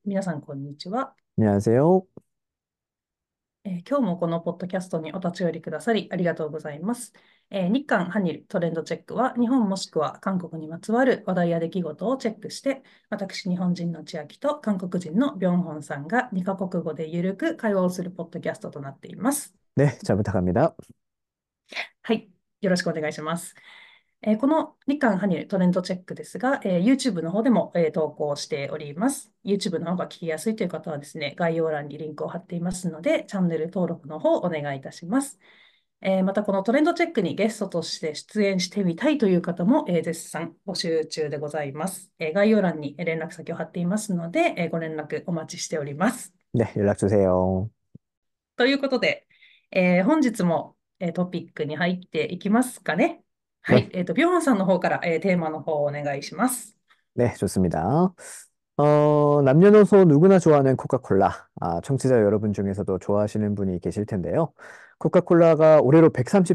皆さん、こんにちは。 안녕하세요. 今日もこのポッドキャストにお立ち寄りくださりありがとうございます。日韓ハニルトレンドチェックは、日本もしくは韓国にまつわる話題や出来事をチェックして、私、日本人の千秋と韓国人のビョンホンさんが2カ国語でゆるく会話をするポッドキャストとなっています。 네, 잘 부탁합니다. はい、よろしくお願いします。この日韓ハニルトレンドチェックですが、YouTube の方でも、投稿しております。YouTube の方が聞きやすいという方はですね、概要欄にリンクを貼っていますので、チャンネル登録の方お願いいたします。また、このトレンドチェックにゲストとして出演してみたいという方も、絶賛募集中でございます。概要欄に連絡先を貼っていますので、ご連絡お待ちしております。 네, 연락 주세요. ということで、本日も、トピックに入っていきますかね。はい。 네, ビョンさんの方から、テーマの方をお願いします。 네, 좋습니다. 남녀노소 누구나 좋아하는 코카콜라. 청취자 여러분 중에서도 좋아하시는 분이 계실 텐데요. 코카콜라가 올해로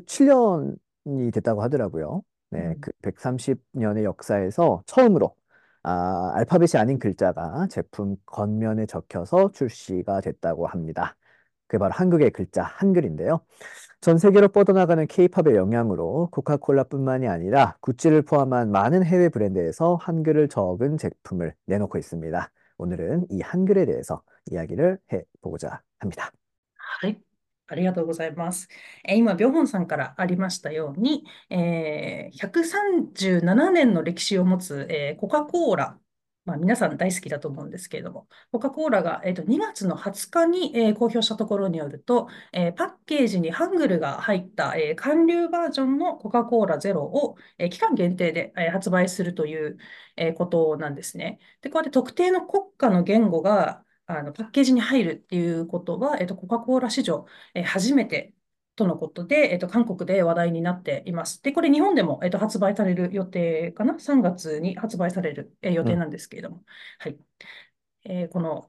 137년이 됐다고 하더라고요. 네, 음, 그 130년의 역사에서 처음으로 알파벳이 아닌 글자가 제품 겉면에 적혀서 출시가 됐다고 합니다. 그게 바로 한국의 글자, 한글인데요. 전 세계로 뻗어나가는 케이팝의 영향으로 코카콜라뿐만이 아니라 구찌를 포함한 많은 해외 브랜드에서 한글을 적은 제품을 내놓고 있습니다. 오늘은 이 한글에 대해서 이야기를 해보고자 합니다. はい。ありがとうございます。今、ビョンさんからありましたように、137年の歴史を持つ、コカ・コーラ。まあ、皆さん大好きだと思うんですけれども、コカ・コーラが、2月の20日に、公表したところによると、パッケージにハングルが入った、韓流バージョンのコカ・コーラゼロを、期間限定で、発売するという、ことなんですね。で、こうやって特定の国家の言語がパッケージに入るっていうことは、コカ・コーラ史上、初めてとのことで、韓国で話題になっています。で、これ日本でも、発売される予定かな？ 3 月に発売される、予定 음, なんですけれども。はい。この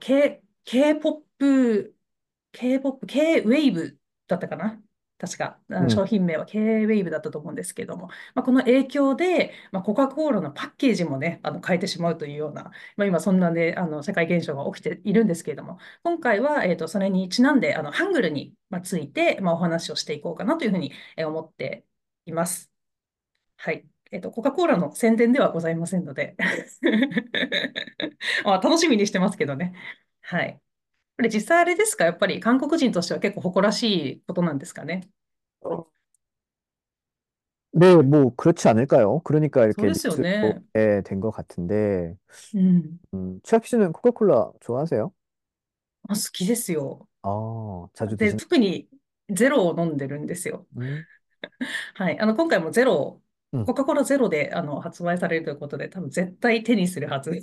K-POP、K-POP、K-WAVE だったかな？確か、 음, 商品名は K-WAVE だったと思うんですけれども、まあ、この影響で、まあ、コカ・コーラのパッケージもね、変えてしまうというような、まあ、今そんなね、世界現象が起きているんですけれども、今回は、それにちなんで、ハングルに、まあ、ついて、まあ、お話をしていこうかなというふうに思っています。はい。コカ・コーラの宣伝ではございませんのでまあ、楽しみにしてますけどね。はい。これ実際あれですか？やっぱり韓国人としては結構誇らしいことなんですかね。 어, 네, 뭐 그렇지 않을까요? 그러니까 そう 이렇게 ですよ 뉴스로 ね。 된 것 같은데, うん。 최학 씨는 코카콜라 좋아하세요? 好きですよ。 자주 で、 드시는, 特にゼロを飲んでるんですよ。 음, はい。今回もゼロ、 음. コカ・コーラゼロで発売されるということで、多分絶対手にするはずです。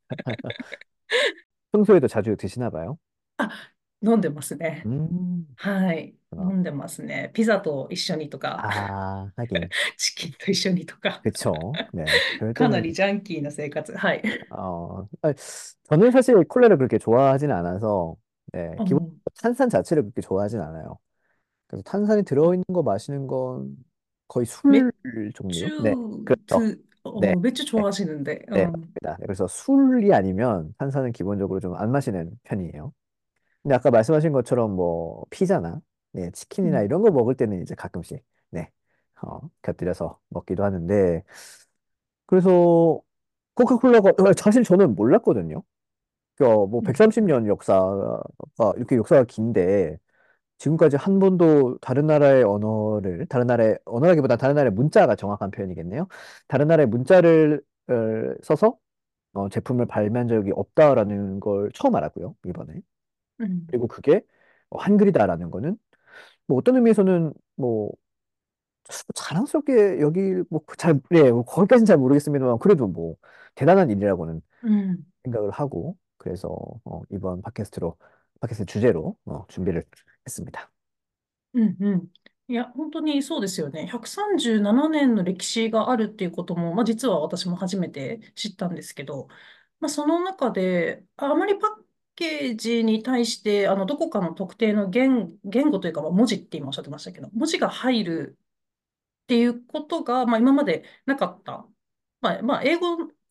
평소에도 자주 드시나 봐요? あ、飲んでますね。 음, はい。飲 그렇구나. んでますね。ピザと一緒にとか、 하긴. チキンと一緒にとか、 그쵸. 네. 그럴 かな 때는, りジャンキーな生活。はい。 아니, 저는 사실 콜라를 그렇게 좋아하진 않아서, 네. 기본 어, 탄산 자체를 그렇게 좋아하진 않아요. 그래서 탄산이 아, 들어있는 거 마시는 건 거의 술 종류? 네. 그렇죠. 네. 맥주 네. 좋아하시는데, 네, 맞습니다. 네, 그래서 술이 아니면 탄산은 기본적으로 좀 안 마시는 편이에요. 근데 아까 말씀하신 것처럼 뭐 피자나 네, 치킨이나 음, 이런 거 먹을 때는 이제 가끔씩 네, 곁들여서 먹기도 하는데 그래서 코카콜라가 사실 저는 몰랐거든요. 뭐 음, 130년 역사가 이렇게 역사가 긴데 지금까지 한 번도 다른 나라의 언어를 다른 나라의 언어라기보다 다른 나라의 문자가 정확한 표현이겠네요. 다른 나라의 문자를 써서 제품을 발매한 적이 없다라는 걸 처음 알았고요, 이번에. 음, 그리고 그게 한글이다라는 거는 뭐 어떤 의미에서는 뭐 자랑스럽게 여기 뭐잘 예, 뭐 거기까지는 잘 모르겠습니다만 그래도 뭐 대단한 일이라고는 음, 생각을 하고 그래서 이번 팟캐스트 주제로 준비를 했습니다. うん。いや、本当にそうですよね。137年の歴史があるっていうことも、まあ、実は私も初めて知ったんですけど、まあ、その中で、あまりパッケージに対して、どこかの特定の言語というか、まあ、文字って今おっしゃってましたけど、文字が入るっていうことが、まあ、今までなかった。まあ、英語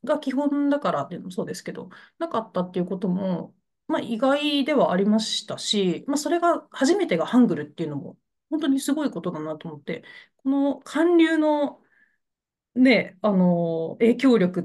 が基本だからっていうのもそうですけど、なかったっていうことも、まあ意外ではありましたし、まあそれが初めてがハングルっていうのも、本当にすごいことだなと思って、この韓流のね、影響力って、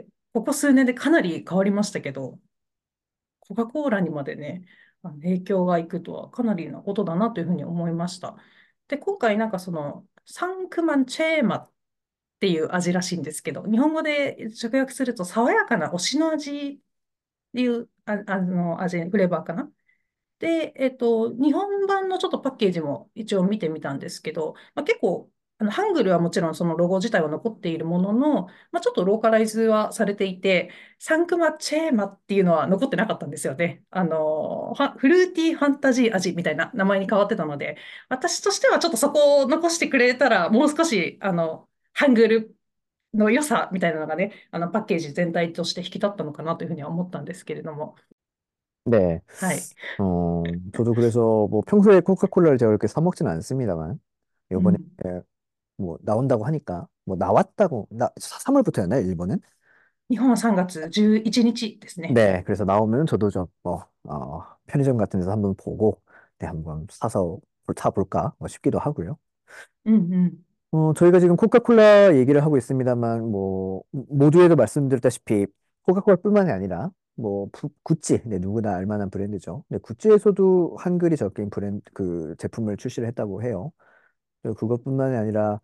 ここ数年でかなり変わりましたけど、コカ・コーラにまでね、影響がいくとはかなりなことだなというふうに思いました。で、今回なんかその、サンクマンチェーマっていう味らしいんですけど、日本語で直訳すると爽やかな推しの味っていう、味、フレーバーかな。で、日本版のちょっとパッケージも一応見てみたんですけど、まあ、結構、ハングルはもちろんそのロゴ自体は残っているものの、まあ、ちょっとローカライズはされていて、サンクマチェーマっていうのは残ってなかったんですよね。フルーティーファンタジー味みたいな名前に変わってたので、私としてはちょっとそこを残してくれたら、もう少し、ハングルの良さみたいなのがね、パッケージ全体として引き立ったのかなというふうには思ったんですけれども。 네. はい。 저도 그래서 뭐 평소에 코카콜라를 제가 그렇게 사 먹지는 않습니다만, 이번에 うん 뭐 나온다고 하니까, 뭐 나왔다고, 3월부터였나요, 일본은? 日本は3月11日ですね。 네, 그래서 나오면 저도 좀, 뭐, 편의점 같은 데서 한번 보고, 네, 한번 사서 타볼까, 뭐 싶기도 하고요. うんうん。 저희가 지금 코카콜라 얘기를 하고 있습니다만, 뭐, 모두에도 말씀드렸다시피, 코카콜라뿐만이 아니라, 뭐, 구찌, 네, 누구나 알 만한 브랜드죠. 네, 구찌에서도 한글이 적힌 그 제품을 출시를 했다고 해요. 그리고 그것뿐만이 아니라,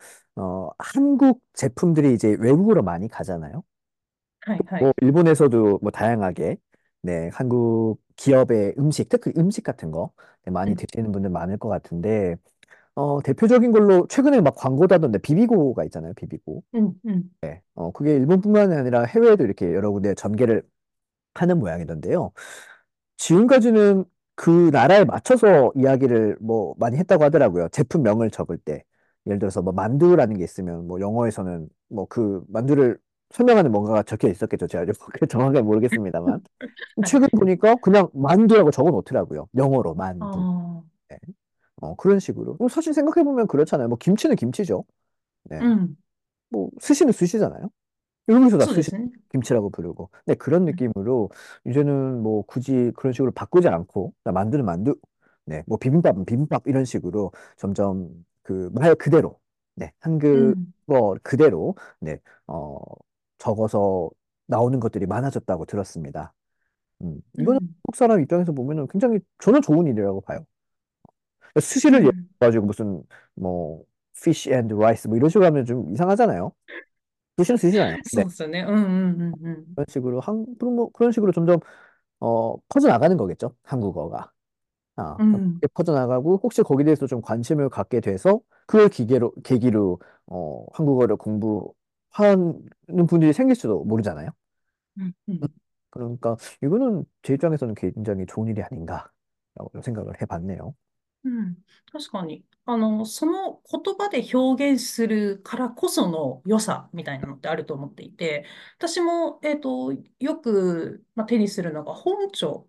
한국 제품들이 이제 외국으로 많이 가잖아요. はいはい。 뭐, 일본에서도 뭐, 다양하게, 네, 한국 기업의 음식, 특히 음식 같은 거, 네, 많이 うん 드시는 분들 많을 것 같은데, 대표적인 걸로 최근에 막 광고다던데 비비고가 있잖아요, 비비고. うんうん。 그게 일본뿐만이 아니라 해외에도 이렇게 여러 군데 전개를 하는 모양이던데요. 지금까지는 그 나라에 맞춰서 이야기를 뭐 많이 했다고 하더라고요. 제품명을 적을 때. 예를 들어서 뭐 만두라는 게 있으면 뭐 영어에서는 뭐 그 만두를 설명하는 뭔가가 적혀 있었겠죠. 제가 정확하게 모르겠습니다만. はい。 최근 보니까 그냥 만두라고 적어 놓더라고요. 영어로 あ 만두. あ。 네. 그런 식으로. 사실 생각해보면 그렇잖아요. 뭐 김치는 김치죠. 네. うん。 뭐 스시는 스시잖아요. 여기서 다 스시 そうですね。 김치라고 부르고. 네, 그런 うん 느낌으로 이제는 뭐 굳이 그런 식으로 바꾸지 않고 나 만두는 만두, 네, 뭐 비빔밥은 비빔밥 이런 식으로 점점 그 말 그대로, 네, うん。 한국어 그대로, 네, 적어서 나오는 것들이 많아졌다고 들었습니다. 이거는 うん 한국 사람 입장에서 보면은 굉장히 저는 좋은 일이라고 봐요. 스시를 예를 うん 가지고 무슨 뭐 fish and rice 뭐 이런 식으로 하면 좀 이상하잖아요. 스시는 스시잖아요. 네. そうですよね。うんうんうんうん。 그런 식으로 그런 식으로 점점 퍼져나가는 거겠죠. 한국어가. うん 그렇게 퍼져나가고 혹시 거기에 대해서 좀 관심을 갖게 돼서 그걸 계기로 한국어를 공부하는 분들이 생길 수도 모르잖아요. うんう 음, ん。 그러니까 이거는 제 입장에서는 굉장히 좋은 일이 아닌가라고 생각을 해봤네요. うん、確かに。その言葉で表現するからこその良さみたいなのってあると思っていて、私も、よく、まあ、手にするのが本庁。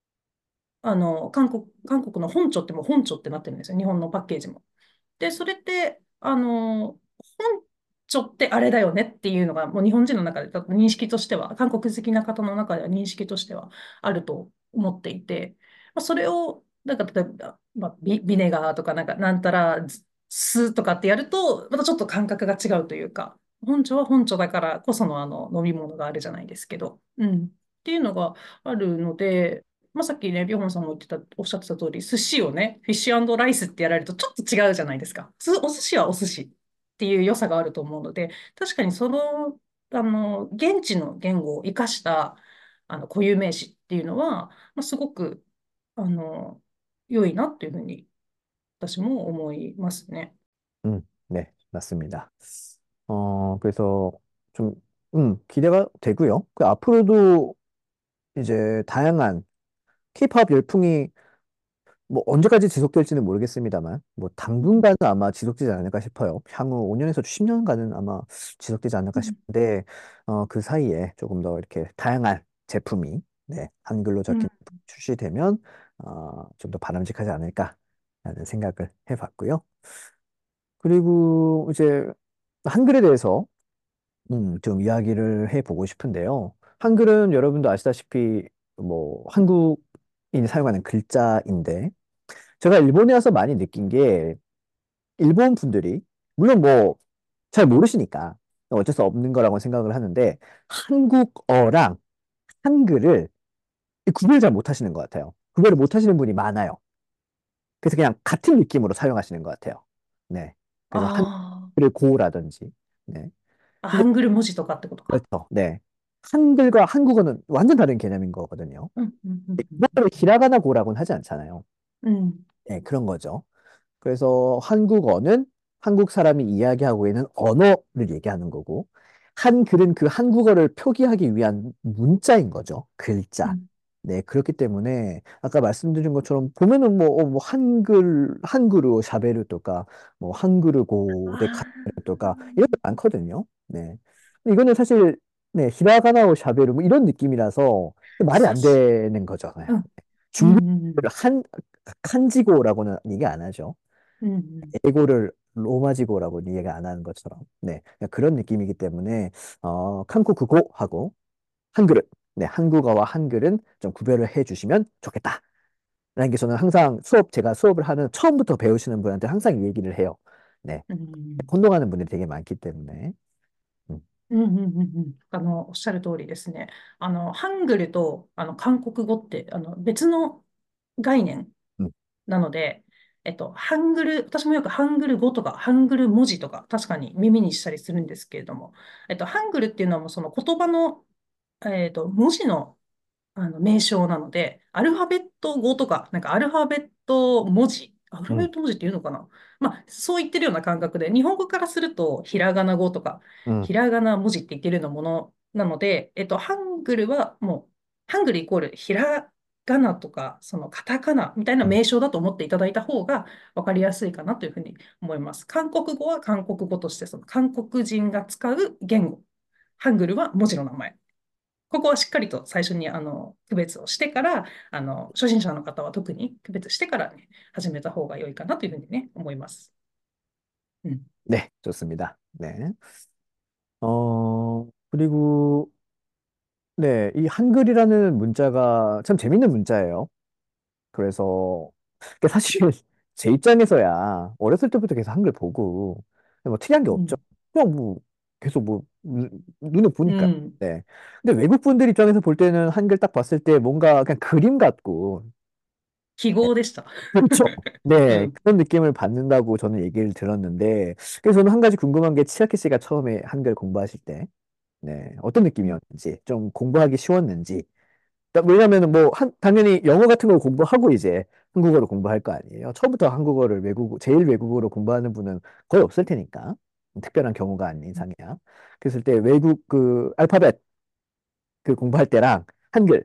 韓国の本庁ってもう本庁ってなってるんですよ。日本のパッケージも。で、それって、本庁ってあれだよねっていうのが、もう日本人の中で多分認識としては、韓国好きな方の中では認識としてはあると思っていて、まあ、それを、なんか例えば、まあ、ビネガーとか、なんか、なんたら、酢とかってやると、またちょっと感覚が違うというか、本庁は本庁だからこその飲み物があるじゃないですけど、うん。っていうのがあるので、まあ、さっきね、ビョホンさんもおっしゃってた通り、寿司をね、フィッシュライスってやられるとちょっと違うじゃないですか。お寿司はお寿司っていう良さがあると思うので、確かにその、現地の言語を生かした、固有名詞っていうのは、まあ、すごく、あの、良いなっていうふうに、私も思いますね。 네, 맞습니다. 그래서 좀, 기대가 되고요. 그 앞으로도 이제 다양한 K-팝 열풍이 뭐 언제까지 지속될지는 모르겠습니다만, 뭐 당분간은 아마 지속되지 않을까 싶어요. 향후 5년에서 10년간은 아마 지속되지 않을까 음, 싶은데, 그 사이에 조금 더 이렇게 다양한 제품이, 네, 한글로 음, 적힌 제품이 출시되면, 좀 더 바람직하지 않을까라는 생각을 해봤고요. 그리고 이제 한글에 대해서 좀 이야기를 해보고 싶은데요. 한글은 여러분도 아시다시피 뭐 한국인이 사용하는 글자인데 제가 일본에 와서 많이 느낀 게 일본 분들이 물론 뭐 잘 모르시니까 어쩔 수 없는 거라고 생각을 하는데 한국어랑 한글을 구별 잘 못하시는 것 같아요. 구별을 못하시는 분이 많아요. 그래서 그냥 같은 느낌으로 사용하시는 것 같아요. 네. 그래서 あ 한글을 고라든지. 네. あ、 근데 ハングル文字とかってことか。 그렇죠. 네. 한글과 한국어는 완전 다른 개념인 거거든요. うん、うん、うん、うん。 이거를 히라가나 고라고는 하지 않잖아요. うん、 네, 그런 거죠. 그래서 한국어는 한국 사람이 이야기하고 있는 언어를 얘기하는 거고, 한글은 그 한국어를 표기하기 위한 문자인 거죠. 글자. うん、 네, 그렇기 때문에 아까 말씀드린 것처럼 보면은 뭐 한글로 샤베르 또까, 뭐 한글고 데 아 카메르 또까 이런 게 많거든요. 네. 근데 이거는 사실 네, 히라가나오 샤베르 뭐 이런 느낌이라서 말이 あ、 안 되는 거잖아요. うん、うん、 중국 うん、 한 칸지고라고는 얘기 안 하죠. うん、うん、 에고를 로마지고라고 이해가 안 하는 것처럼. 네. 그런 느낌이기 때문에, 한국어하고 한글은, 네, 한국어와 한글은 좀 구별을 해 주시면 좋겠다. 라는 게 저는 항상 제가 수업을 하는 처음부터 배우시는 분한테 항상 이 얘기를 해요. 네. うん、 혼동하는 분들이 되게 많기 때문에. 음, うん、うん、うん、うん。おっしゃる通りですね。ハングルと、韓国語って、別の概念 음, なので、ハングル、私もよくハングル語とか、ハングル文字とか、確かに耳にしたりするんですけれども、ハングルっていうのはもうその言葉の、文字の名称なので、アルファベット語とか、なんかアルファベット文字、アルファベ 음, ット文字っていうのかな。まあ、そう言ってるような感覚で、日本語からすると、ひらがな語とか、 음, ひらがな文字って言ってるようなものなので、ハングルはもう、ハングルイコールひらがなとか、そのカタカナみたいな 음. 名称だと思っていただいた方が分かりやすいかなというふうに思います。韓国語は韓国語として、その韓国人が使う言語。ハングルは文字の名前。ここはしっかりと最初に区別をしてから、初心者の方は特に区別してからね、始めた方が良いかなというふうにね、思います。うん。 네, 좋습니다. 네. 그리고, 네, 이 한글이라는 문자가 참 재밌는 문자예요. 그래서 사실 제 입장에서야 어렸을 때부터 계속 한글 보고 뭐 특이한 게 없죠. うん。 그냥 뭐 계속 뭐 눈에 う 보니까. ん。 네. 근데 외국 분들 입장에서 볼 때는 한글 딱 봤을 때 뭔가 그냥 그림 같고 記号でした。 그렇죠. う 네, ん。 그런 느낌을 받는다고 저는 얘기를 들었는데 그래서 저는 한 가지 궁금한 게 치아키 씨가 처음에 한글 공부하실 때 네, 어떤 느낌이었는지 좀 공부하기 쉬웠는지 왜냐면은 뭐, 당연히 영어 같은 걸 공부하고 이제 한국어를 공부할 거 아니에요. 처음부터 한국어를 제일 외국어로 공부하는 분은 거의 없을 테니까. 특별한 경우가 아닌 이상이야. 그랬을 때 외국 그 알파벳 그 공부할 때랑 한글,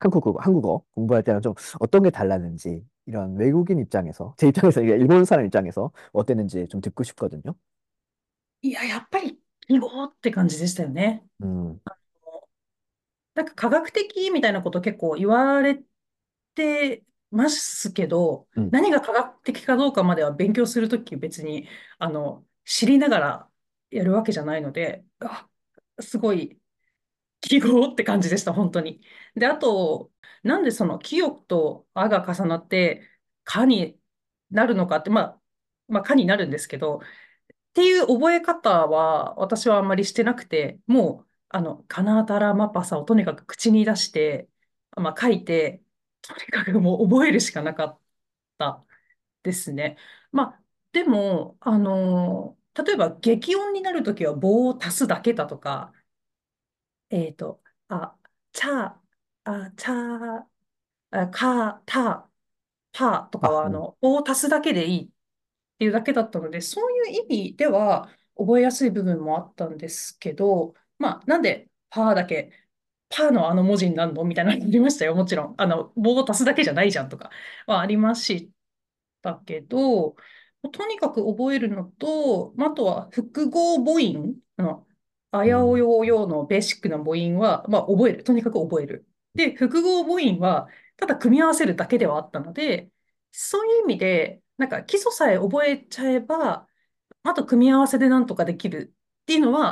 한국어 공부할 때랑 좀 어떤 게 달랐는지 이런 외국인 입장에서, 제 입장에서, 이게 일본 사람 입장에서 어땠는지 좀 듣고 싶거든요. いや、やっぱり記号って感じでしたよね。 음, なんか科学的みたいなこと結構言われてますけど、 음, 何が科学的かどうかまでは勉強するとき別に、知りながらやるわけじゃないので、すごい記号って感じでした、本当に。で、あと、なんでその清とあが重なってかになるのかって、まあ、かになるんですけど、っていう覚え方は私はあんまりしてなくて、もう、カナタラマパサをとにかく口に出して、まあ、書いて、とにかくもう覚えるしかなかったですね。まあ、でも、例えば激音になるときは棒を足すだけだとか、えっと、あ、チャー、チャー、カー、ター、パーとか 아, は、棒を足すだけでいいっていうだけだったので、そういう意味では覚えやすい部分もあったんですけど、まあ、なんでパーだけ、パーのあの文字になるのみたいなのありましたよ、もちろん。棒を足すだけじゃないじゃんとかはありましたけど、とにかく覚えるのと、まああとは複合母音、あやお 음, よおよのベーシックな母音は、まあ、覚える。とにかく覚える。で、複合母音は、ただ組み合わせるだけではあったので、そういう意味で、なんか基礎さえ覚えちゃえば、あと組み合わせでなんとかできるっていうのは、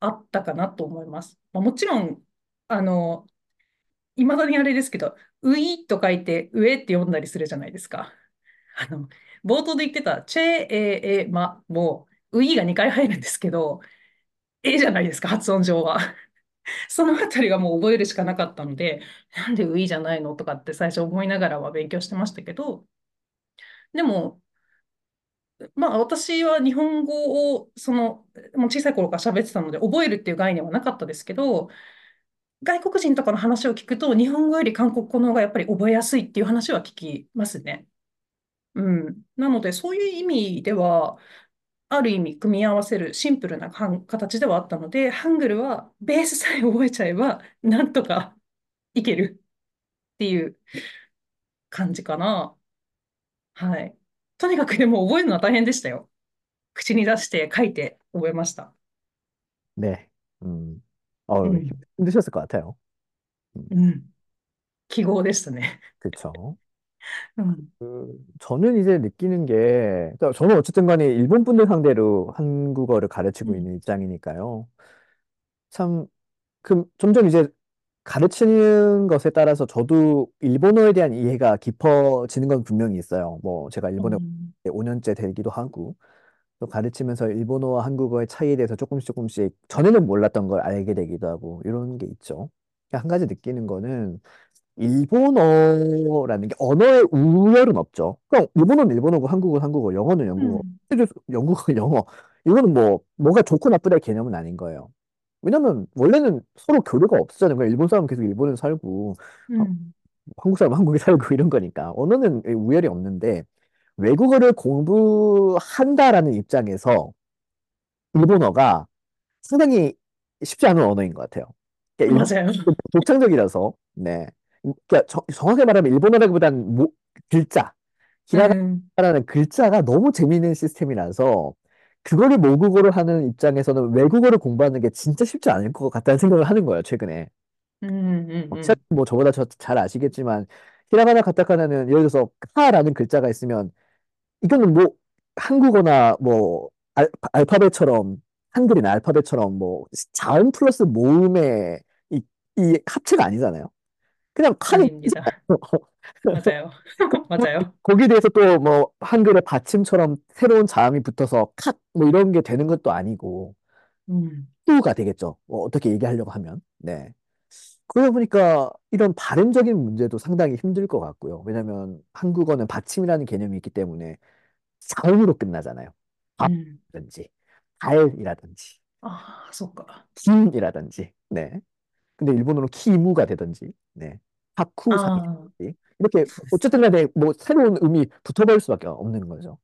あったかなと思います。まあ、もちろん、あの、いまだにあれですけど、ウィと書いて上って読んだりするじゃないですか。あの、冒頭で言ってた、チェエエマも、ウィが2回入るんですけど、えじゃないですか、発音上は。そのあたりがもう覚えるしかなかったので、なんでウィじゃないのとかって最初思いながらは勉強してましたけど、でも、まあ私は日本語をもう小さい頃から喋ってたので覚えるっていう概念はなかったですけど、外国人とかの話を聞くと日本語より韓国語の方がやっぱり覚えやすいっていう話は聞きますね。うん。なのでそういう意味では、ある意味組み合わせるシンプルな形ではあったので、ハングルはベースさえ覚えちゃえばなんとかいけるっていう感じかな。はい。とにかくでも覚えるのは大変でしたよ。口に出して書いて覚えました。 네. 음, うん 힘드셨을 것 같아요. 음, うん。記号でしたね。 그쵸. うん。 저는 이제 느끼는 게, 그러니까 저는 어쨌든 간에 일본 분들 상대로 한국어를 가르치고 うん 있는 입장이니까요. 참, 점점 이제 가르치는 것에 따라서 저도 일본어에 대한 이해가 깊어지는 건 분명히 있어요. 뭐, 제가 일본에 うん 5년째 되기도 하고, 또 가르치면서 일본어와 한국어의 차이에 대해서 조금씩 조금씩 전에는 몰랐던 걸 알게 되기도 하고, 이런 게 있죠. 한 가지 느끼는 거는 일본어라는 게 언어의 우열은 없죠. 그냥 일본어는 일본어고 한국어는 한국어, 영어는 영국어, 영국어는 영어. 이거는 뭐 뭐가 좋고 나쁘다의 개념은 아닌 거예요. 왜냐면 원래는 서로 교류가 없었잖아요. 그냥 일본 사람은 계속 일본에 살고 음, 한국 사람은 한국에 살고 이런 거니까 언어는 우열이 없는데 외국어를 공부한다라는 입장에서 일본어가 상당히 쉽지 않은 언어인 것 같아요. 그러니까 일본 맞아요. 독창적이라서 네. 그러니까 정확히 말하면 일본어라기보다는 글자, 음, 히라가나라는 글자가 너무 재미있는 시스템이라서 그거를 모국어로 하는 입장에서는 외국어를 공부하는 게 진짜 쉽지 않을 것 같다는 생각을 하는 거예요, 최근에. 시작뭐 저보다 잘 아시겠지만 히라가나 가타카나는 예를 들어서 카라는 글자가 있으면 이거는 뭐 한국어나 뭐 알파벳처럼 한글이나 알파벳처럼 뭐 자음 플러스 모음의 이, 이 합체가 아니잖아요. 그냥 칸이 아닙니다. 맞아요. 맞아요. 거기에 대해서 또 뭐 한글의 받침처럼 새로운 자음이 붙어서 컷 뭐 이런 게 되는 것도 아니고 음, 또가 되겠죠. 뭐 어떻게 얘기하려고 하면. 네. 그러다 보니까 이런 발음적인 문제도 상당히 힘들 것 같고요. 왜냐하면 한국어는 받침이라는 개념이 있기 때문에 자음으로 끝나잖아요. 음. 밥이라든지 달이라든지 아, そっか. 김이라든지. 네. 근데 일본어로 키무가 되든지. 네. 하쿠사가 아, 되든지. 이렇게 어쨌든 간에 뭐 새로운 음이 붙어버릴 수밖에 없는 거죠.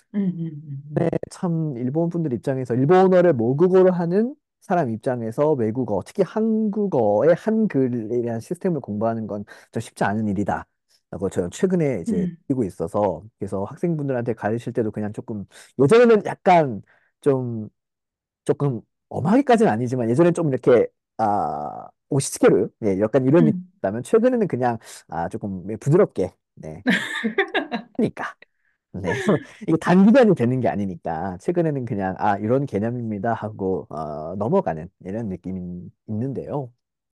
참 일본 분들 입장에서 일본어를 모국어로 하는 사람 입장에서 외국어, 특히 한국어의 한글에 대한 시스템을 공부하는 건 좀 쉽지 않은 일이다. 라고 저는 최근에 이제 음, 느끼고 있어서 그래서 학생분들한테 가르칠 때도 그냥 조금 예전에는 약간 좀 조금 엄하게까지는 아니지만 예전에 좀 이렇게 오시스케르 예, 약간 이런 느낌이 음. 있다면 최근에는 그냥 조금 부드럽게 네. 하니까 네. 이게 단기간이 되는 게 아니니까, 최근에는 그냥, 이런 개념입니다 하고, 넘어가는 이런 느낌이 있는데요.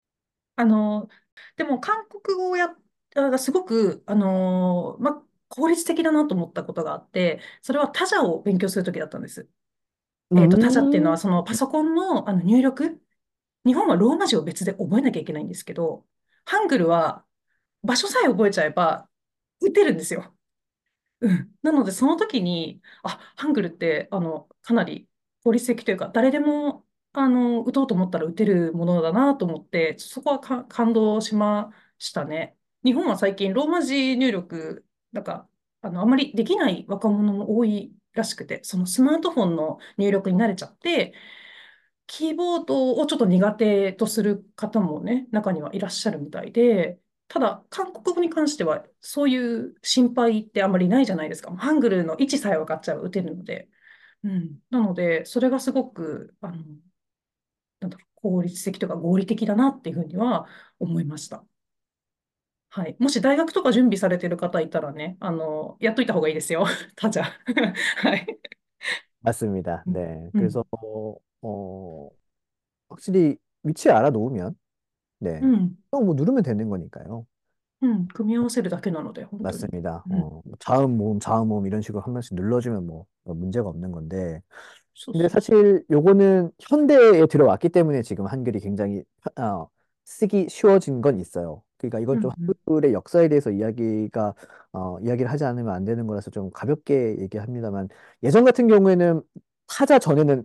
でも韓国語がすごく、効率的だなと思ったことがあって、それは他者を勉強するときだったんです。他者っていうのは 음, そのパソコンの、入力。日本はローマ字を別で覚えなきゃいけないんですけど、ハングルは場所さえ覚えちゃえば打てるんですよ。うん。なので、その時に、ハングルって、かなり効率的というか、誰でも、打とうと思ったら打てるものだなと思って、そこは感動しましたね。日本は最近、ローマ字入力、なんか、あまりできない若者も多いらしくて、そのスマートフォンの入力に慣れちゃって、キーボードをちょっと苦手とする方もね、中にはいらっしゃるみたいで、ただ、韓国語に関しては、そういう心配ってあまりないじゃないですか。ハングルの位置さえ分かっちゃえば打てるので。うん。なので、それがすごく、なんだろう、効率的とか合理的だなっていうふうには思いました。はい。もし大学とか準備されてる方いたらね、やっといた方がいいですよ。他じゃ。はい。 맞습니다. うん。 네. うん。 그래서, 어, 확실히 위치 알아놓으면, 네. うん。 또 뭐 누르면 되는 거니까요. うん。組み合わせるだけなので、本当に。 맞습니다. うん。 자음, 모음, 자음, 모음 이런 식으로 한 번씩 눌러주면 뭐 문제가 없는 건데. 근데 そうそうそ 사실 요거는 현대에 들어왔기 때문에 지금 한글이 굉장히 쓰기 쉬워진 건 있어요. 그러니까 う。 이건 う 좀 んうん。 한글의 역사에 대해서 이야기를 하지 않으면 안 되는 거라서 좀 가볍게 얘기합니다만 예전 같은 경우에는 타자 전에는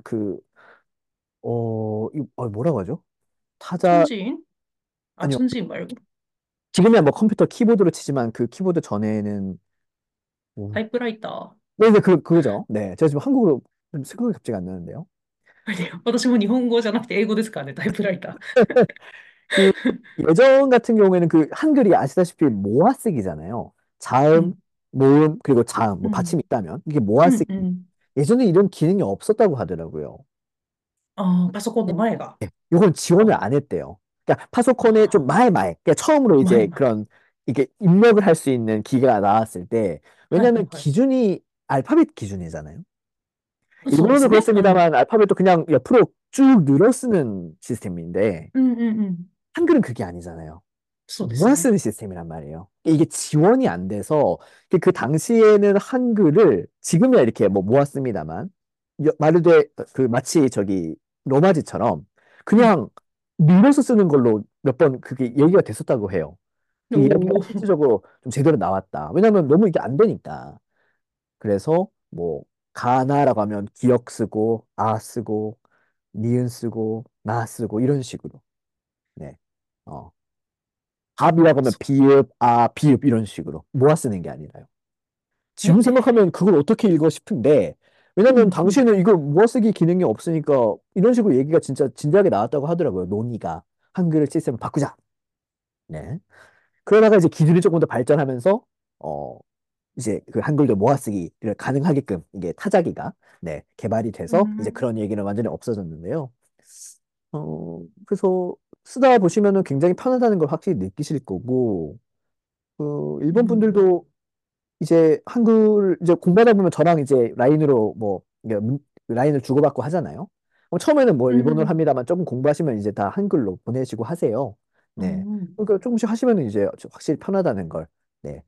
뭐라고 하죠? 타자, 천지인あ、 아니요. 천지인 말고. 지금이야 뭐 컴퓨터 키보드로 치지만 그 키보드 전에는, 뭐, タイプライター。 네, 네, 그거죠. 네. 제가 지금 한국어로 좀 생각이 갑자기 안 나는데요. あれ私も日本語じゃなくて英語ですからね、タイプライタ 그 예전 같은 경우에는 그 한글이 아시다시피 모아쓰기잖아요. ー。う 자음, ん。 모음, 그리고 자음, う 뭐 ん。 받침이 있다면 이게 うん。 모아쓰기. うん。 예전에 이런 기능이 없었다고 하더라고요. ああ、パソコンの前が。 이건 지원을 あ、 안 했대요. 그러니까 파소콘에 좀 あ 마에마에, 그러니까 처음으로 あ、前 이제 々。 그런 이게 입력을 할 수 있는 기계가 나왔을 때, はいはい 왜냐하면 はい。 기준이 알파벳 기준이잖아요. そうで 일본어도 すね。うん。 그렇습니다만 알파벳도 그냥 옆으로 쭉 늘어 쓰는 시스템인데 うんうんうん。 한글은 그게 아니잖아요. そうですね。 모아 쓰는 시스템이란 말이에요. 이게 지원이 안 돼서 그 당시에는 한글을 지금이야 이렇게 뭐 모았습니다만 말르되 그 마치 저기 로마지처럼 うん。 그냥 밀어서 쓰는 걸로 몇 번 그게 얘기가 됐었다고 해요. 그 이야기가 おー。 실질적으로 좀 제대로 나왔다. 왜냐하면 너무 이게 안 되니까. 그래서 뭐 가나라고 하면 기역 쓰고 아 쓰고 니은 쓰고 나 쓰고 이런 식으로. 네. 어. 밥이라고 하면 そ 비읍, 비읍 이런 식으로 모아 쓰는 게 아니라요. え、 지금 생각하면 그걸 어떻게 읽어 싶은데 왜냐면 うんうん。 당시에는 이거 모아 쓰기 기능이 없으니까 이런 식으로 얘기가 진짜 진지하게 나왔다고 하더라고요. 논의가 한글 시스템을 바꾸자. 네. 그러다가 이제 기술이 조금 더 발전하면서 어 이제 그 한글도 모아 쓰기를 가능하게끔 이게 타자기가 네 개발이 う 돼서 이제 ん。 그런 얘기는 완전히 없어졌는데요. 그래서 쓰다 보시면은 굉장히 편하다는 걸 확실히 느끼실 거고 일본 うん。 분들도 이제 한글 이제 공부하다 보면 저랑 이제 라인으로 뭐 이게 라인을 주고받고 하잖아요. 처음에는 뭐 う 일본어를 ん。 합니다만 조금 공부하시면 이제 다 한글로 보내시고 하세요. う 네. ん。 그러니까 조금씩 하시면은 이제 확실히 편하다는 걸 네,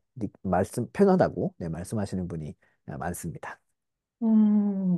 편하다고 네, 말씀하시는 분이 많습니다. うん。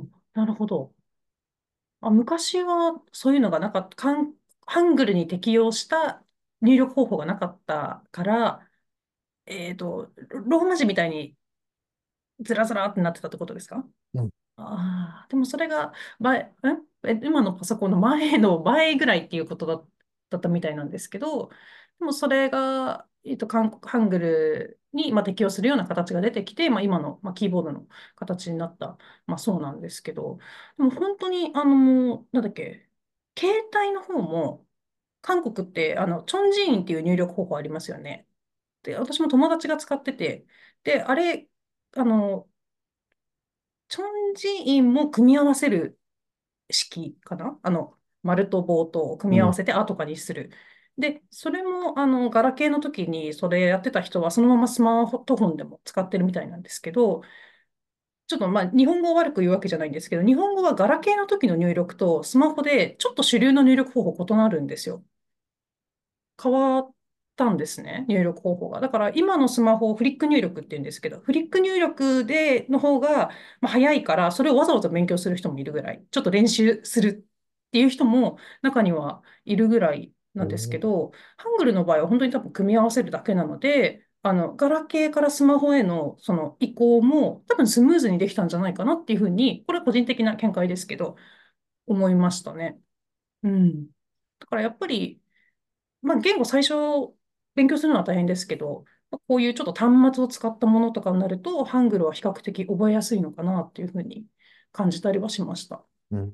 なるほど。あ、昔はそういうのがなかった、ハングルに適用した入力方法がなかったから、ローマ字みたいにずらずらってなってたってことですか？ うん、 ああ、でもそれが今のパソコンの前の倍ぐらいっていうことだったみたいなんですけど、でもそれが、韓国ハングルに、適用するような形が出てきて、今の、キーボードの形になった、そうなんですけど、でも本当に、なんだっけ、携帯の方も、韓国って、チョンジーンっていう入力方法ありますよね。で、私も友達が使ってて、で、あれ、あの、チョンジーンも組み合わせる式かな、丸と棒と組うん、 み合わせてあとかにする。で、それも、ガラケーの時にそれやってた人は、そのままスマートフォンでも使ってるみたいなんですけど、ちょっと日本語を悪く言うわけじゃないんですけど、日本語はガラケーの時の入力とスマホでちょっと主流の入力方法異なるんですよ。変わったんですね、入力方法が。だから今のスマホをフリック入力って言うんですけど、フリック入力の方が、早いから、それをわざわざ勉強する人もいるぐらい、ちょっと練習するっていう人も中にはいるぐらいなんですけおー、 ど、ハングルの場合は本当に多分組み合わせるだけなので、ガラケーからスマホへのその移行も多分スムーズにできたんじゃないかなっていうふうに、これは個人的な見解ですけど、思いましたね。うん。だからやっぱり、言語最初勉強するのは大変ですけど、こういうちょっと端末を使ったものとかになると、ハングルは比較的覚えやすいのかなっていうふうに感じたりはしました。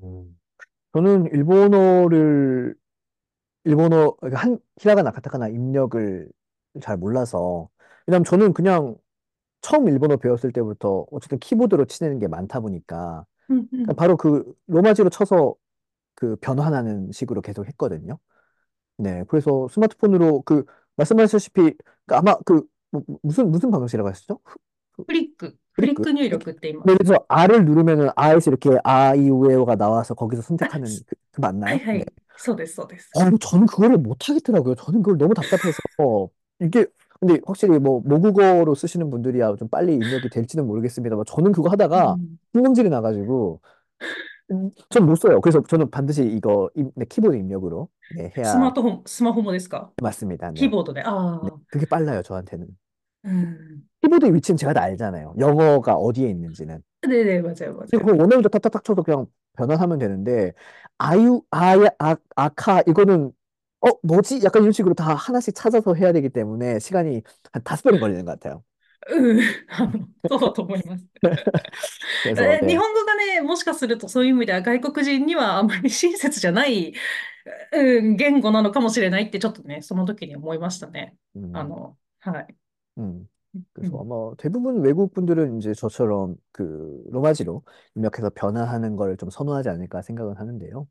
저는 그러니까 히라가나, 가타카나 입력을 잘 몰라서 왜냐면 저는 그냥 처음 일본어 배웠을 때부터 어쨌든 키보드로 치는 게 많다 보니까 うんうん。 그냥 바로 그 로마지로 쳐서 그 변환하는 식으로 계속 했거든요. 네, 그래서 스마트폰으로 그 말씀하셨다시피 그 아마 무슨 방식이라고 하셨죠? フリッ 프리크? ク入力って今。 네, 그래서 R을 누르면은 R에서 이렇게 아, 이, 우, 에, 오가 나와서 거기서 선택하는 그 맞나요? はいは 네. い。 そうです、そうです。 저는 그거를 못 하겠더라고요. 저는 그걸 너무 답답해서. 이게, 근데 확실히 뭐, 모국어로 쓰시는 분들이야 좀 빨리 입력이 될지는 모르겠습니다만, 저는 그거 하다가 음. 신경질이 나가지고, 전 못 써요. 그래서 저는 반드시 이거, 네, 키보드 입력으로, 네, 해야, スマホもですか？ 맞습니다. 네. キーボードで。あ 네. あ。 그게 빨라요, 저한테는. うん。 키보드의 위치는 제가 다 알잖아요. 영어가 어디에 있는지는. 네네, 맞아요, 근데 맞아요. 그거 원어민도 탁탁탁 쳐서 그냥 변환하면 되는데, 아카, 이거는, 뭐지? 약간 이런 식으로 다 하나씩 찾아서 해야 되기 때문에 시간이 한 5배는 걸리는 것 같아요. うん。そうだと思います。 그래서, 日 네. 本語がね、もしかするとそういう意味では外国人にはあまり親切じゃない、言語なのかもしれないってちょっとね、その時に思いましたね。 음, はい。 음. うん。 그래서 아마 대부분 외국 분들은 이제 저처럼 그 로마지로 입력해서 변화하는 걸 좀 선호하지 않을까 생각은 하는데요.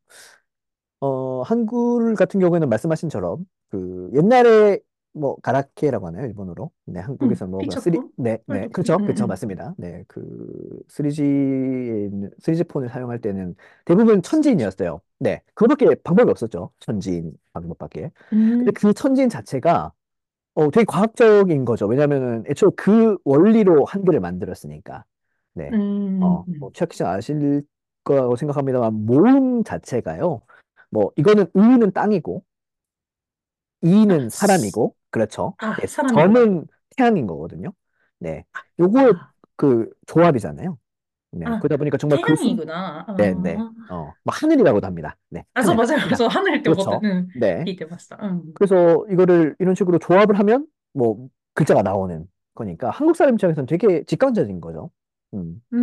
한글 같은 경우에는 말씀하신처럼 그 옛날에 뭐 가라케라고 하나요? 일본어로. 네, うん。 한국에서 뭐 그냥 3, ピチャポン 네, これ 네. と、うん 그렇죠. うんう 그렇죠. ん。 맞습니다. 네. 그 3G에 있는 3G 폰을 사용할 때는 대부분 スイッチ。 천지인이었어요. 네. 그거밖에 방법이 없었죠. 천지인 방법밖에. う 근데 ん。 그 천지인 자체가 되게 과학적인 거죠. 왜냐면은 애초에 그 원리로 한글을 만들었으니까. う 네. ん。うん。 최학기 씨 아실 거라고 생각합니다만, 모음 자체가요. 뭐, 이거는 의는 땅이고, あ、 이는 사람이고, 그렇죠. あ、 네, サラミ語だ。 점은 태양인 거거든요. 네. 요거 あ、 그 조합이잖아요. 네. あ、 그러다 보니까 정말 テ 그 ヤニーグな。 네, 네. あ 뭐 하늘이라고도 합니다. 네. あ、そう、 하늘. 맞아요。 하늘. そう、離れて思って、 그렇죠. うん、 네. 聞いてました。うん。 그래서 이거를 이런 식으로 조합을 하면 뭐 글자가 나오는 거니까 한국 사람 입장에서는 되게 직관적인 거죠. 음. うん。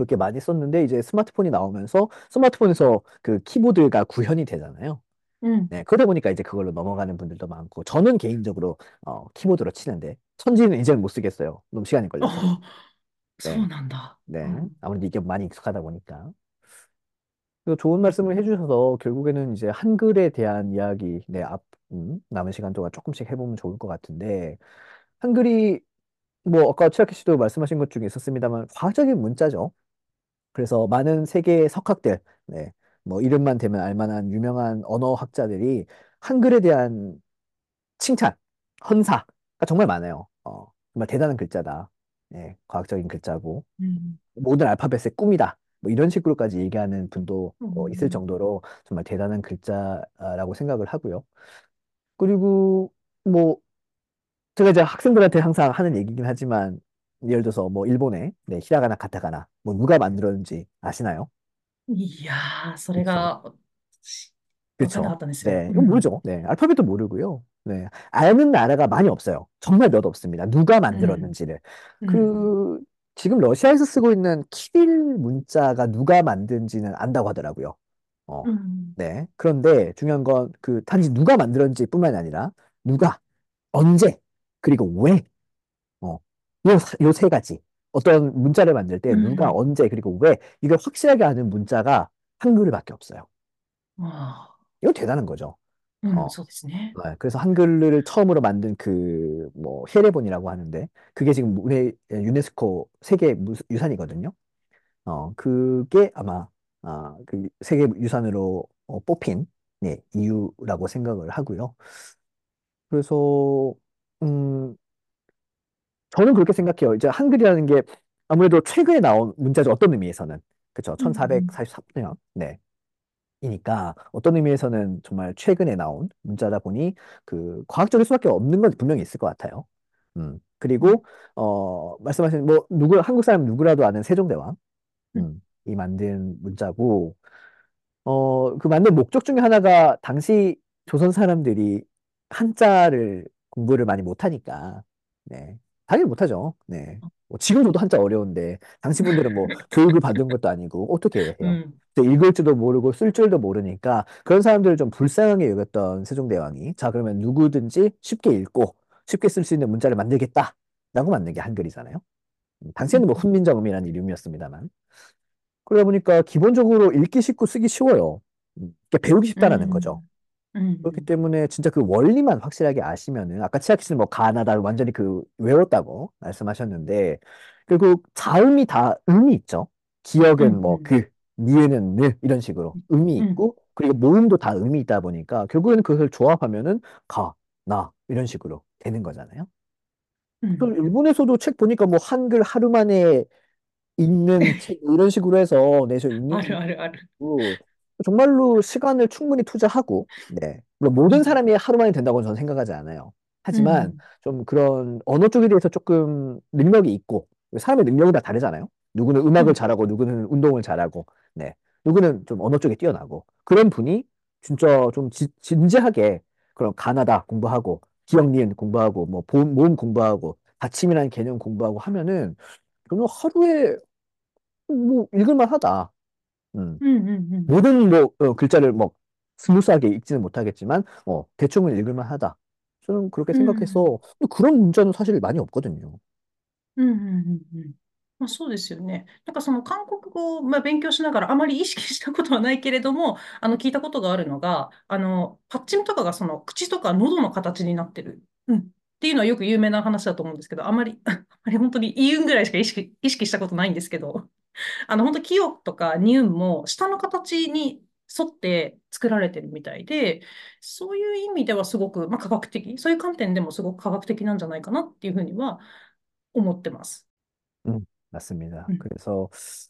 그렇게 많이 썼는데 이제 스마트폰이 나오면서 스마트폰에서 그 키보드가 구현이 되잖아요. うん。 네. 그러다 보니까 이제 그걸로 넘어가는 분들도 많고 저는 개인적으로 키보드로 치는데 천지는 이제는 못 쓰겠어요. 너무 시간이 お 걸려서. そ 네. うなんだ。う 네. ん。 아무래도 이게 많이 익숙하다 보니까. 그리고 좋은 うん。 말씀을 해주셔서 결국에는 이제 한글에 대한 이야기, 네, 남은 시간 동안 조금씩 해보면 좋을 것 같은데, 한글이 뭐 아까 최학희 씨도 말씀하신 것 중에 있었습니다만 과학적인 문자죠. 그래서 많은 세계 석학들, 네, 뭐 이름만 대면 알만한 유명한 언어학자들이 한글에 대한 칭찬, 헌사가 정말 많아요. 정말 대단한 글자다. 네, 과학적인 글자고. うん。 모든 알파벳의 꿈이다. 뭐 이런 식으로까지 얘기하는 분도 う 있을 ん。 정도로 정말 대단한 글자라고 생각을 하고요. 그리고 뭐 제가 이제 학생들한테 항상 하는 얘기긴 하지만 예를 들어서 뭐 일본의 네, 히라가나 카타카나 뭐 누가 만들었는지 아시나요? いやー、それ 그쵸. が、わかんなか 그쵸. ったんですよ。 네, う 이건 ん。 모르죠. 네, 알파벳도 모르고요. 네, 아는 나라가 많이 없어요. 정말 몇 없습니다. 누가 うん。 만들었는지를. うん。 그 지금 러시아에서 쓰고 있는 키릴 문자가 누가 만든지는 안다고 하더라고요. 어, うん。 네. 그런데 중요한 건 그 단지 누가 만들었는지뿐만이 아니라 누가, 언제, 그리고 왜, 요 세 가지. 어떤 문자를 만들 때 う 누가, ん。 언제, 그리고 왜, 이걸 확실하게 아는 문자가 한글밖에 없어요. ああ。 이거 대단한 거죠. うん、 어, そうですね。 네. 그래서 한글을 처음으로 만든 그, 뭐, 헤레본이라고 하는데, 그게 지금 유네스코 세계 유산이거든요. 그게 아마, 그 세계 유산으로 뽑힌, 네, 이유라고 생각을 하고요. 그래서, 음, 저는 그렇게 생각해요. 이제 한글이라는 게 아무래도 최근에 나온 문자죠. 어떤 의미에서는. 그쵸. うん。 1443년. 네. 이니까 어떤 의미에서는 정말 최근에 나온 문자다 보니 그 과학적일 수밖에 없는 건 분명히 있을 것 같아요. うん。 그리고 말씀하신 뭐 누구 한국 사람 누구라도 아는 세종대왕 うん。 이 만든 문자고 그 만든 목적 중에 하나가 당시 조선 사람들이 한자를 공부를 많이 못하니까, 네. 당연히 못하죠. 네. 뭐 지금도 한자 어려운데, 당시 분들은 뭐 교육을 받은 것도 아니고, 어떻게 う 해요? ん。 또 읽을 줄도 모르고 쓸 줄도 모르니까, 그런 사람들을 좀 불쌍하게 여겼던 세종대왕이, 자, 그러면 누구든지 쉽게 읽고, 쉽게 쓸 수 있는 문자를 만들겠다. 라고 만든 게 한글이잖아요. うん。 당시에는 뭐 훈민정음이라는 이름이었습니다만. 그러다 보니까 기본적으로 읽기 쉽고 쓰기 쉬워요. 그러니까 배우기 う 쉽다라는 거죠. ん。うん。 그렇기 때문에 진짜 그 원리만 확실하게 아시면은 아까 치아키 씨는 뭐 가나다 완전히 그 외웠다고 말씀하셨는데 결국 자음이 다 의미 있죠. う 기억은 뭐 ん。 그, 니은은 느 이런 식으로 의미 うん。 있고 그리고 모음도 다 음이 있다 보니까 결국에는 그것을 조합하면은 가, 나 이런 식으로 되는 거잖아요. 그래서 うん。 일본에서도 책 보니까 뭐 한글 하루 만에 읽는 책 이런 식으로 해서 내서 읽는 あ 분도 るあるある。 있고 정말로 시간을 충분히 투자하고 네. 물론 모든 うん。 사람이 하루 만에 된다고 저는 생각하지 않아요. うん。う 하지만 ん。 좀 그런 언어 쪽에 대해서 조금 능력이 있고 사람의 능력은 다 다르잖아요. 누구는 う 음악을 ん。 잘하고 누구는 운동을 잘하고 네. 누구는 좀 언어 쪽에 뛰어나고 그런 분이 진짜 좀 진지하게 그런 가나다 공부하고 기억 니은 공부하고 뭐 모음 공부하고 받침이라는 개념 공부하고 하면은 저는 하루에 뭐 읽을만 하다. 음. うん。うん。うん。 모든 뭐 글자를 뭐 스무스하게 읽지는 못하겠지만 대충은 읽을만 하다. 저는 그렇게 うん。 생각해서 그런 문자는 사실 많이 없거든요. うん。うん。うん。まあ、そうですよね。なんかその韓国語を、まあ、勉強しながらあまり意識したことはないけれども、聞いたことがあるのが、パッチンとかがその口とか喉の形になってる。うん。っていうのはよく有名な話だと思うんですけど、あまり、あまり本当に言うんぐらいしか意識したことないんですけど、本当、清とかニウンも下の形に沿って作られてるみたいで、そういう意味ではすごく、まあ、科学的、そういう観点でもすごく科学的なんじゃないかなっていうふうには思ってます。 맞습니다. うん。 그래서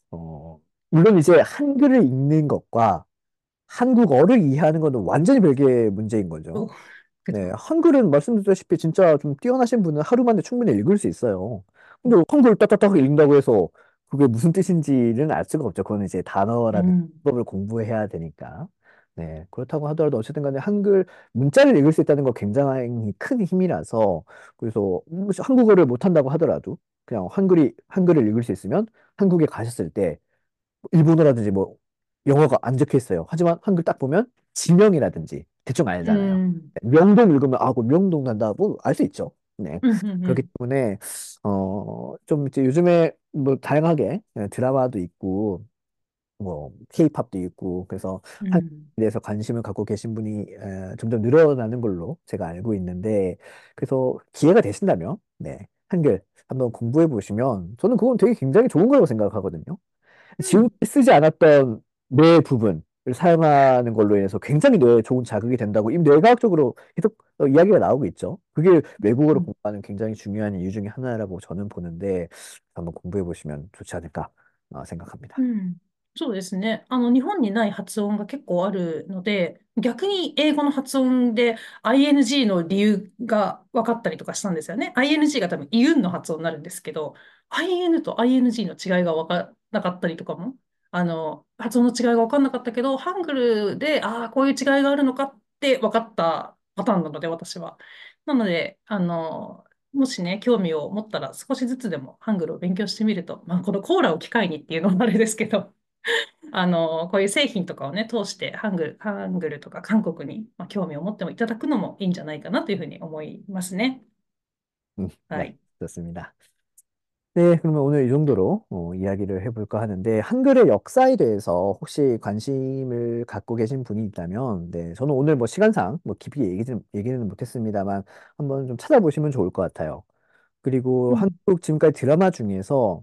물론 이제 한글을 읽는 것과 한국어를 이해하는 것은 완전히 별개의 문제인 거죠. お、 네, 한글은 말씀드렸다시피 진짜 좀 뛰어나신 분은 하루 만에 충분히 읽을 수 있어요. 근데 한글 딱딱딱 읽는다고 해서 그게 무슨 뜻인지는 알 수가 없죠. 그거는 이제 단어라든 うん。 법을 공부해야 되니까. 네, 그렇다고 하더라도 어쨌든 간에 한글 문자를 읽을 수 있다는 거 굉장히 큰 힘이라서 그래서 한국어를 못한다고 하더라도 그냥 한글을 읽을 수 있으면 한국에 가셨을 때 일본어라든지 뭐 영어가 안 적혀 있어요. 하지만 한글 딱 보면 지명이라든지 대충 う 알잖아요. ん。 명동 읽으면 아, 그 명동 난다. 뭐 알 수 있죠. 네. うん。うん。う 그렇기 ん。 때문에 좀 이제 요즘에 뭐 다양하게 드라마도 있고 뭐 케이팝도 있고 그래서 う 한국에 ん。 대해서 관심을 갖고 계신 분이 점점 늘어나는 걸로 제가 알고 있는데 그래서 기회가 되신다면 네. 한글 한번 공부해 보시면 저는 그건 되게 굉장히 좋은 거라고 생각하거든요. うん。 지금까지 쓰지 않았던 뇌 부분을 사용하는 걸로 인해서 굉장히 뇌에 좋은 자극이 된다고 이미 뇌과학적으로 계속 이야기가 나오고 있죠. 그게 외국어를 うん。 공부하는 굉장히 중요한 이유 중에 하나라고 저는 보는데 한번 공부해 보시면 좋지 않을까 생각합니다. うん、そうですね。日本にない発音が結構あるので、逆に英語の発音で ING の理由が分かったりとかしたんですよね。ING が多分イウンの発音になるんですけど、IN と ING の違いが分からなかったりとかも、発音の違いが分かんなかったけど、ハングルで、ああ、こういう違いがあるのかって分かったパターンなので、私は。なので、もしね、興味を持ったら少しずつでもハングルを勉強してみると、まあ、このコーラを機会にっていうのもあれですけど、こういう製品とかをね、通してハングルとか韓国に、まあ、興味を持ってもいただくのもいいんじゃないかなというふうに思いますね。は 네, い。 좋습니다. 네, 그러면 오늘 이 정도로 이야기를 해볼까 하는데, 한글의 역사에 대해서 혹시 관심을 갖고 계신 분이 있다면, 네, 저는 오늘 뭐 시간상 뭐 깊이 얘기는 못했습니다만, 한번 좀 찾아보시면 좋을 것 같아요. 그리고 うん。 한국 지금까지 드라마 중에서,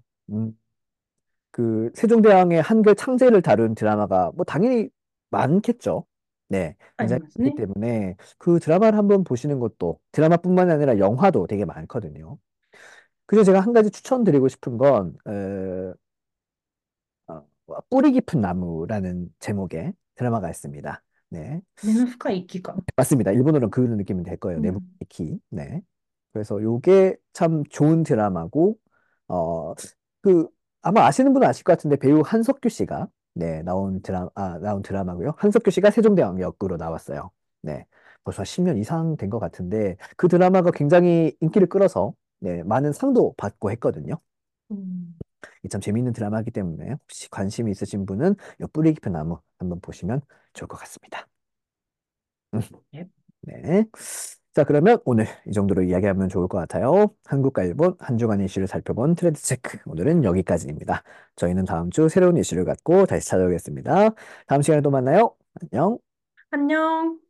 그 세종대왕의 한글 창제를 다룬 드라마가 뭐 당연히 많겠죠. 네, あり 굉장히 ますね。 많기 때문에 그 드라마를 한번 보시는 것도, 드라마뿐만 아니라 영화도 되게 많거든요. 그래서 제가 한 가지 추천드리고 싶은 건, 뿌리 깊은 나무라는 제목의 드라마가 있습니다. 네. 根の深い木か。 맞습니다. 일본어로 그 느낌이 될 거예요. うん。 네부키. 네. 그래서 요게 참 좋은 드라마고, 어, 그, 아마 아시는 분은 아실 것 같은데 배우 한석규 씨가, 네, 나온 드라마고요. 한석규 씨가 세종대왕 역으로 나왔어요. 네. 벌써 10년 이상 된 것 같은데, 그 드라마가 굉장히 인기를 끌어서, 네, 많은 상도 받고 했거든요. うん。 이참 재미있는 드라마이기 때문에 혹시 관심이 있으신 분은 요 뿌리 깊은 나무 한번 보시면 좋을 것 같습니다. 음, え、 네. 자, 그러면 오늘 이 정도로 이야기하면 좋을 것 같아요. 한국과 일본 한 주간 이슈를 살펴본 트렌드 체크. 오늘은 여기까지입니다. 저희는 다음 주 새로운 이슈를 갖고 다시 찾아오겠습니다. 다음 시간에 또 만나요. 안녕. 안녕。